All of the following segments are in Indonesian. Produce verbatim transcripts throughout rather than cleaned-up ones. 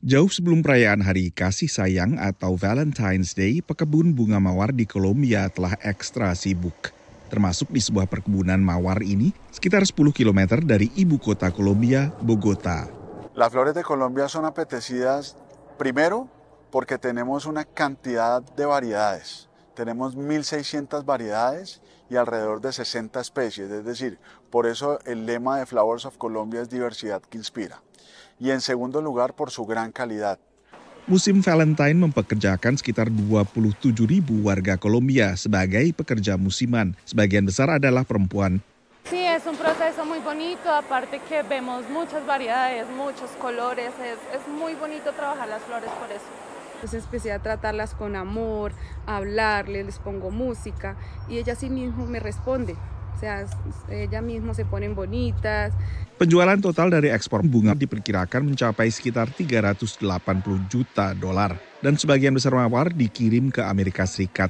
Jauh sebelum perayaan Hari Kasih Sayang atau Valentine's Day, pekebun bunga mawar di Kolombia telah ekstra sibuk. Termasuk di sebuah perkebunan mawar ini, sekitar sepuluh kilometer dari ibu kota Kolombia, Bogotá. Las flores de Colombia son apetecidas, primero, porque tenemos una cantidad de variedades. Tenemos mil seiscientas variedades y alrededor de sesenta especies, es decir, por eso el lema de Flowers of Colombia es diversidad que inspira. Y en segundo lugar, por su gran calidad. Musim Valentine mempekerjakan sekitar dua puluh tujuh ribu warga Kolombia sebagai pekerja musiman. Sebagian besar adalah perempuan. Sí, es un proceso muy bonito, aparte que vemos muchas variedades, muchos colores, es, es muy bonito trabajar las flores por eso. Pues empecé a tratarlas con amor, a hablarles, les pongo música y ella sí mismo me responde. O sea, ella misma se ponen bonitas. Penjualan total dari ekspor bunga diperkirakan mencapai sekitar tiga ratus delapan puluh juta dolar dan sebagian besar mawar dikirim ke Amerika Serikat.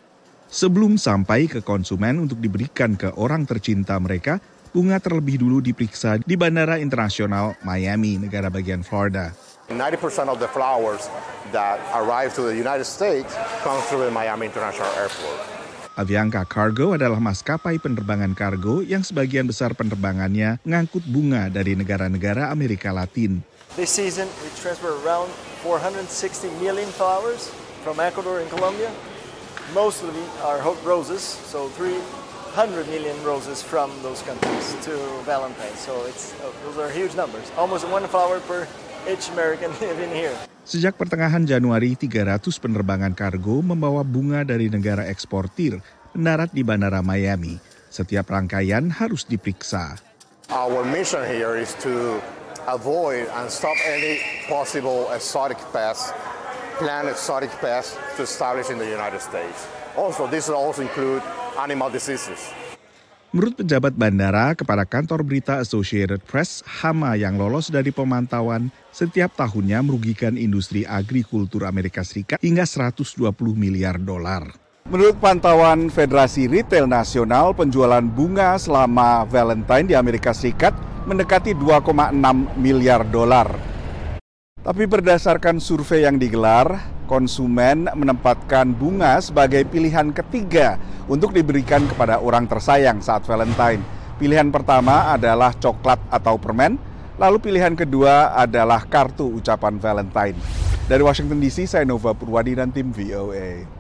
Sebelum sampai ke konsumen untuk diberikan ke orang tercinta mereka, bunga terlebih dulu diperiksa di Bandara Internasional Miami, negara bagian Florida. ninety percent of the flowers that arrive to the United States come through the Miami International Airport. Avianca Cargo adalah maskapai penerbangan kargo yang sebagian besar penerbangannya mengangkut bunga dari negara-negara Amerika Latin. This season we transfer around four hundred sixty million flowers from Ecuador and Colombia. Mostly are roses, so three hundred million roses from those countries to Valentine. So it's uh, those are huge numbers. Almost one flower per each American living here. Sejak pertengahan Januari, tiga ratus penerbangan kargo membawa bunga dari negara eksportir mendarat di Bandara Miami. Setiap rangkaian harus diperiksa. Our mission here is to avoid and stop any possible exotic pests, plant exotic pests to establish in the United States. Also, this will also include animal diseases. Menurut pejabat bandara kepada kantor berita Associated Press, hama yang lolos dari pemantauan setiap tahunnya merugikan industri agrikultur Amerika Serikat hingga seratus dua puluh miliar dolar. Menurut pantauan Federasi Retail Nasional, penjualan bunga selama Valentine di Amerika Serikat mendekati dua koma enam miliar dolar. Tapi berdasarkan survei yang digelar, konsumen menempatkan bunga sebagai pilihan ketiga untuk diberikan kepada orang tersayang saat Valentine. Pilihan pertama adalah coklat atau permen, lalu pilihan kedua adalah kartu ucapan Valentine. Dari Washington D C, saya Nova Purwadi dan tim V O A.